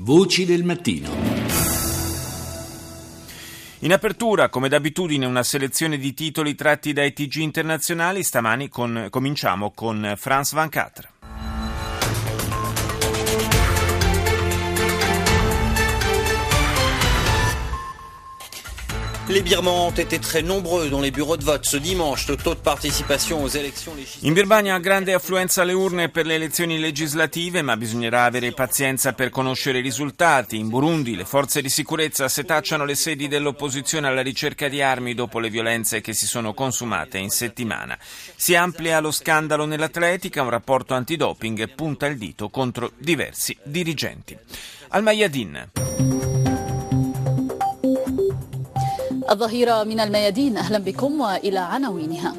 Voci del mattino. In apertura, come d'abitudine, una selezione di titoli tratti dai TG internazionali. Stamani cominciamo con France 24. Les Birmans ont été très nombreux dans les bureaux de vote ce dimanche. Le taux de participation aux élections législatives. In Birmania grande affluenza alle urne per le elezioni legislative, ma bisognerà avere pazienza per conoscere i risultati. In Burundi le forze di sicurezza setacciano le sedi dell'opposizione alla ricerca di armi dopo le violenze che si sono consumate in settimana. Si amplia lo scandalo nell'atletica, un rapporto antidoping punta il dito contro diversi dirigenti. Al Mayadin. الظهيرة من الميادين أهلا بكم وإلى عناوينها.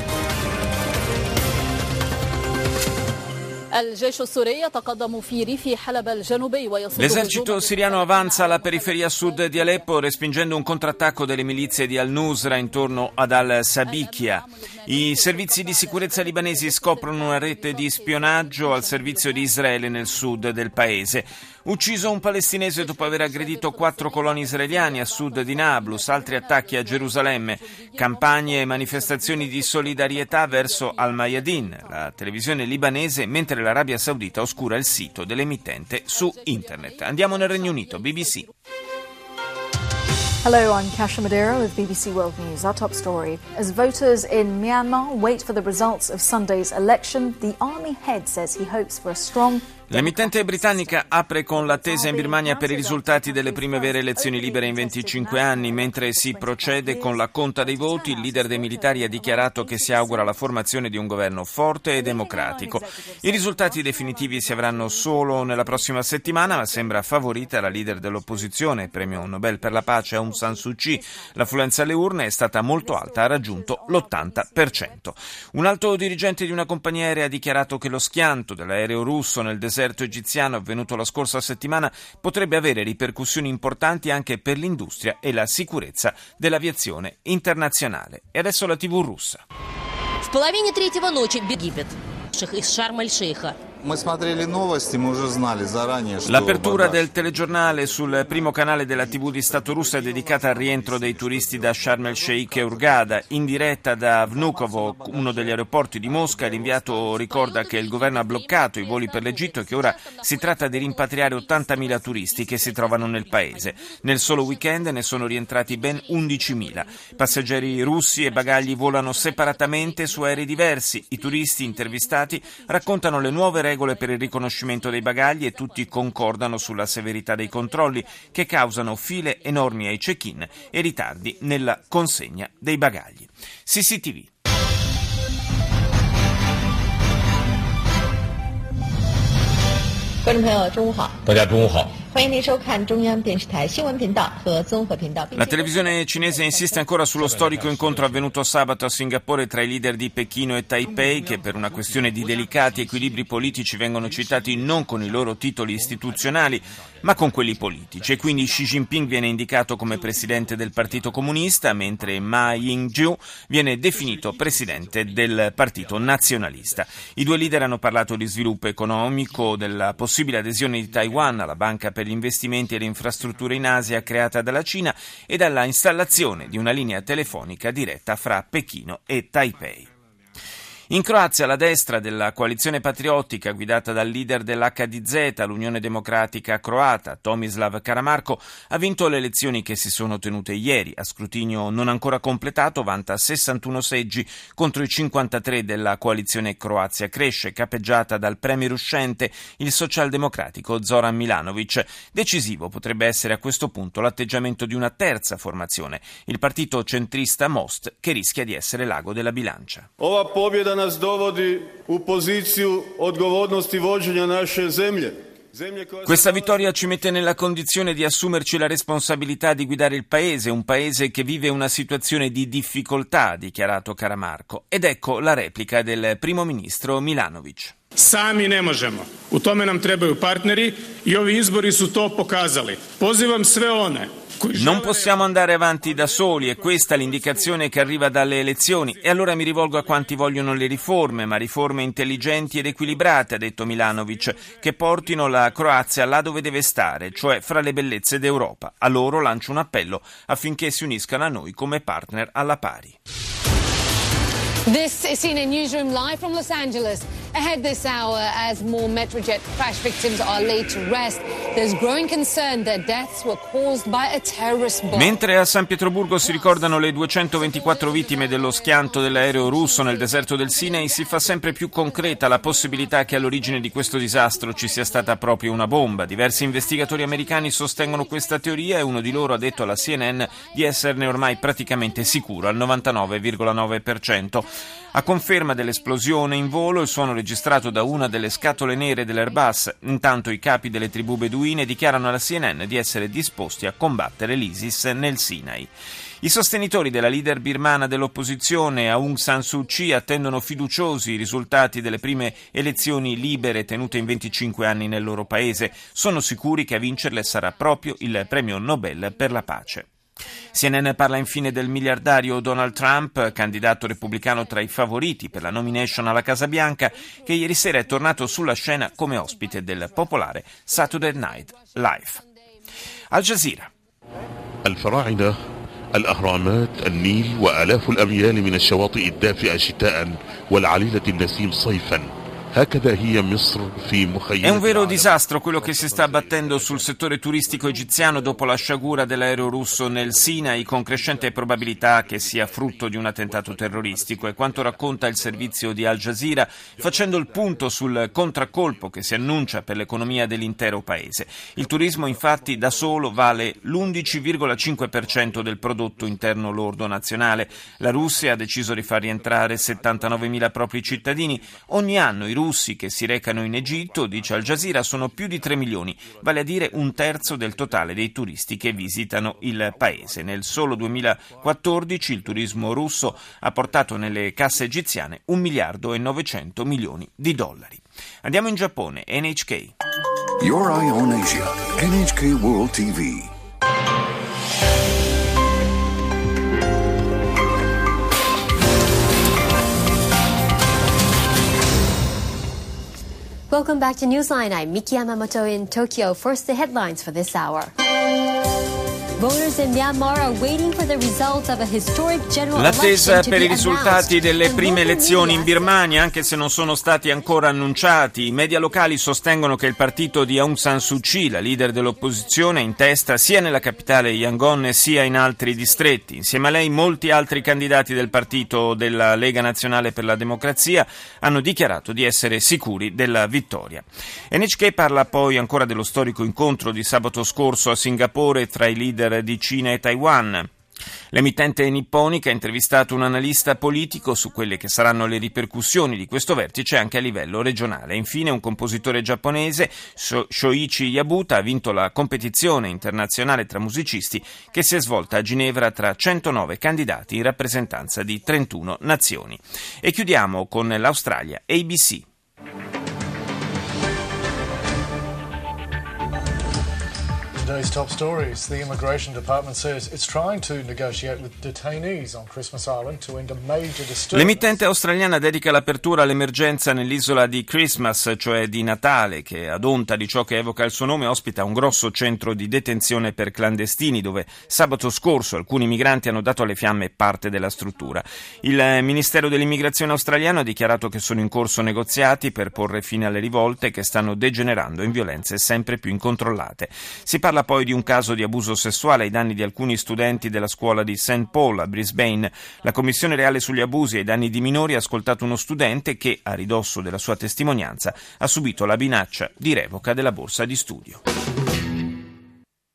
L'esercito siriano avanza alla periferia sud di Aleppo respingendo un contrattacco delle milizie di al-Nusra intorno ad al-Sabikia. I servizi di sicurezza libanesi scoprono una rete di spionaggio al servizio di Israele nel sud del paese. Ucciso un palestinese dopo aver aggredito 4 coloni israeliani a sud di Nablus, altri attacchi a Gerusalemme, campagne e manifestazioni di solidarietà verso Al-Mayadin, la televisione libanese, mentre l'Arabia Saudita oscura il sito dell'emittente su internet. Andiamo nel Regno Unito, BBC. Hello, I'm Kasia Madeira with BBC World News. Our top story. As voters in Myanmar wait for the results of Sunday's election, the army head says he hopes for a strong... L'emittente britannica apre con l'attesa in Birmania per i risultati delle prime vere elezioni libere in 25 anni. Mentre si procede con la conta dei voti, il leader dei militari ha dichiarato che si augura la formazione di un governo forte e democratico. I risultati definitivi si avranno solo nella prossima settimana, ma sembra favorita la leader dell'opposizione, premio Nobel per la pace Aung San Suu Kyi. L'affluenza alle urne è stata molto alta, ha raggiunto l'80%. Un alto dirigente di una compagnia aerea ha dichiarato che lo schianto dell'aereo russo nel deserto egiziano avvenuto la scorsa settimana potrebbe avere ripercussioni importanti anche per l'industria e la sicurezza dell'aviazione internazionale. E adesso la TV russa. В половине третьего ночи гибет из Шарм-эль-Шейха. L'apertura del telegiornale sul primo canale della TV di Stato russa è dedicata al rientro dei turisti da Sharm el-Sheikh e Hurghada. In diretta da Vnukovo, uno degli aeroporti di Mosca, l'inviato ricorda che il governo ha bloccato i voli per l'Egitto e che ora si tratta di rimpatriare 80.000 turisti che si trovano nel paese. Nel solo weekend ne sono rientrati ben 11.000. Passeggeri russi e bagagli volano separatamente su aerei diversi. I turisti intervistati raccontano le nuove regole per il riconoscimento dei bagagli e tutti concordano sulla severità dei controlli che causano file enormi ai check-in e ritardi nella consegna dei bagagli. CCTV. La televisione cinese insiste ancora sullo storico incontro avvenuto sabato a Singapore tra i leader di Pechino e Taipei, che per una questione di delicati equilibri politici vengono citati non con i loro titoli istituzionali ma con quelli politici, e quindi Xi Jinping viene indicato come presidente del Partito Comunista, mentre Ma Ying-jeou viene definito presidente del Partito Nazionalista. I due leader hanno parlato di sviluppo economico, della possibile adesione di Taiwan alla Banca per gli investimenti e le infrastrutture in Asia creata dalla Cina e dalla installazione di una linea telefonica diretta fra Pechino e Taipei. In Croazia la destra della coalizione patriottica guidata dal leader dell'HDZ, l'Unione Democratica Croata, Tomislav Karamarko, ha vinto le elezioni che si sono tenute ieri. A scrutinio non ancora completato vanta 61 seggi contro i 53 della coalizione Croazia Cresce, capeggiata dal premier uscente, il socialdemocratico Zoran Milanovic. Decisivo potrebbe essere a questo punto l'atteggiamento di una terza formazione, il partito centrista Most, che rischia di essere l'ago della bilancia. Ova pobjeda nas dovodi u poziciju odgovornosti vođenja naše zemlje. Questa vittoria ci mette nella condizione di assumerci la responsabilità di guidare il paese, un paese che vive una situazione di difficoltà, ha dichiarato Karamarko. Ed ecco la replica del primo ministro Milanovic. Sami ne možemo. U tome nam trebaju partneri i ovi izbori su to pokazali. Pozivam sve one. Non possiamo andare avanti da soli, e questa è l'indicazione che arriva dalle elezioni. E allora mi rivolgo a quanti vogliono le riforme, ma riforme intelligenti ed equilibrate, ha detto Milanovic, che portino la Croazia là dove deve stare, cioè fra le bellezze d'Europa. A loro lancio un appello affinché si uniscano a noi come partner alla pari. This is CNN Newsroom live from Los Angeles. Ahead this hour, as more Metrojet crash victims are laid to rest, there's growing concern that deaths were caused by a terrorist bomb. Mentre a San Pietroburgo si ricordano le 224 vittime dello schianto dell'aereo russo nel deserto del Sinai, si fa sempre più concreta la possibilità che all'origine di questo disastro ci sia stata proprio una bomba. Diversi investigatori americani sostengono questa teoria e uno di loro ha detto alla CNN di esserne ormai praticamente sicuro, al 99,9%. A conferma dell'esplosione in volo, il suono registrato da una delle scatole nere dell'Airbus. Intanto i capi delle tribù beduine dichiarano alla CNN di essere disposti a combattere l'ISIS nel Sinai. I sostenitori della leader birmana dell'opposizione, Aung San Suu Kyi, attendono fiduciosi i risultati delle prime elezioni libere tenute in 25 anni nel loro paese. Sono sicuri che a vincerle sarà proprio il premio Nobel per la pace. CNN parla infine del miliardario Donald Trump, candidato repubblicano tra i favoriti per la nomination alla Casa Bianca, che ieri sera è tornato sulla scena come ospite del popolare Saturday Night Live. Al Jazeera. الفراعنة الأهرامات النيل وآلاف الأميال من الشواطئ الدافئة شتاء والعليلة النسيم صيفا. È un vero disastro quello che si sta abbattendo sul settore turistico egiziano dopo la sciagura dell'aereo russo nel Sinai, con crescente probabilità che sia frutto di un attentato terroristico. È quanto racconta il servizio di Al Jazeera, facendo il punto sul contraccolpo che si annuncia per l'economia dell'intero paese. Il turismo infatti da solo vale l'11,5% del prodotto interno lordo nazionale. La Russia ha deciso di far rientrare 79.000 propri cittadini. Ogni anno i russi che si recano in Egitto, dice Al Jazeera, sono più di 3 milioni, vale a dire un terzo del totale dei turisti che visitano il paese. Nel solo 2014 il turismo russo ha portato nelle casse egiziane 1 miliardo e 900 milioni di dollari. Andiamo in Giappone, NHK. Your Eye on Asia, NHK World TV. Welcome back to Newsline. I'm Miki Yamamoto in Tokyo. First, the headlines for this hour. Voters in Myanmar are waiting for the results of a historic general election. L'attesa per i risultati delle prime elezioni in Birmania, anche se non sono stati ancora annunciati. I media locali sostengono che il partito di Aung San Suu Kyi, la leader dell'opposizione, è in testa sia nella capitale Yangon sia in altri distretti. Insieme a lei molti altri candidati del partito della Lega Nazionale per la Democrazia hanno dichiarato di essere sicuri della vittoria. NHK parla poi ancora dello storico incontro di sabato scorso a Singapore tra i leader di Cina e Taiwan. L'emittente nipponica ha intervistato un analista politico su quelle che saranno le ripercussioni di questo vertice anche a livello regionale. Infine un compositore giapponese, Shoichi Yabuta, ha vinto la competizione internazionale tra musicisti che si è svolta a Ginevra tra 109 candidati in rappresentanza di 31 nazioni. E chiudiamo con l'Australia, ABC. Today's top stories. The Immigration Department says it's trying to negotiate with detainees on Christmas Island to end a major disturbance. L'emittente australiana dedica l'apertura all'emergenza nell'isola di Christmas, cioè di Natale, che ad onta di ciò che evoca il suo nome ospita un grosso centro di detenzione per clandestini, dove sabato scorso alcuni migranti hanno dato alle fiamme parte della struttura. Il Ministero dell'Immigrazione australiano ha dichiarato che sono in corso negoziati per porre fine alle rivolte che stanno degenerando in violenze sempre più incontrollate. Si parla poi di un caso di abuso sessuale ai danni di alcuni studenti della scuola di St. Paul a Brisbane. La Commissione Reale sugli abusi ai danni di minori ha ascoltato uno studente che, a ridosso della sua testimonianza, ha subito la minaccia di revoca della borsa di studio.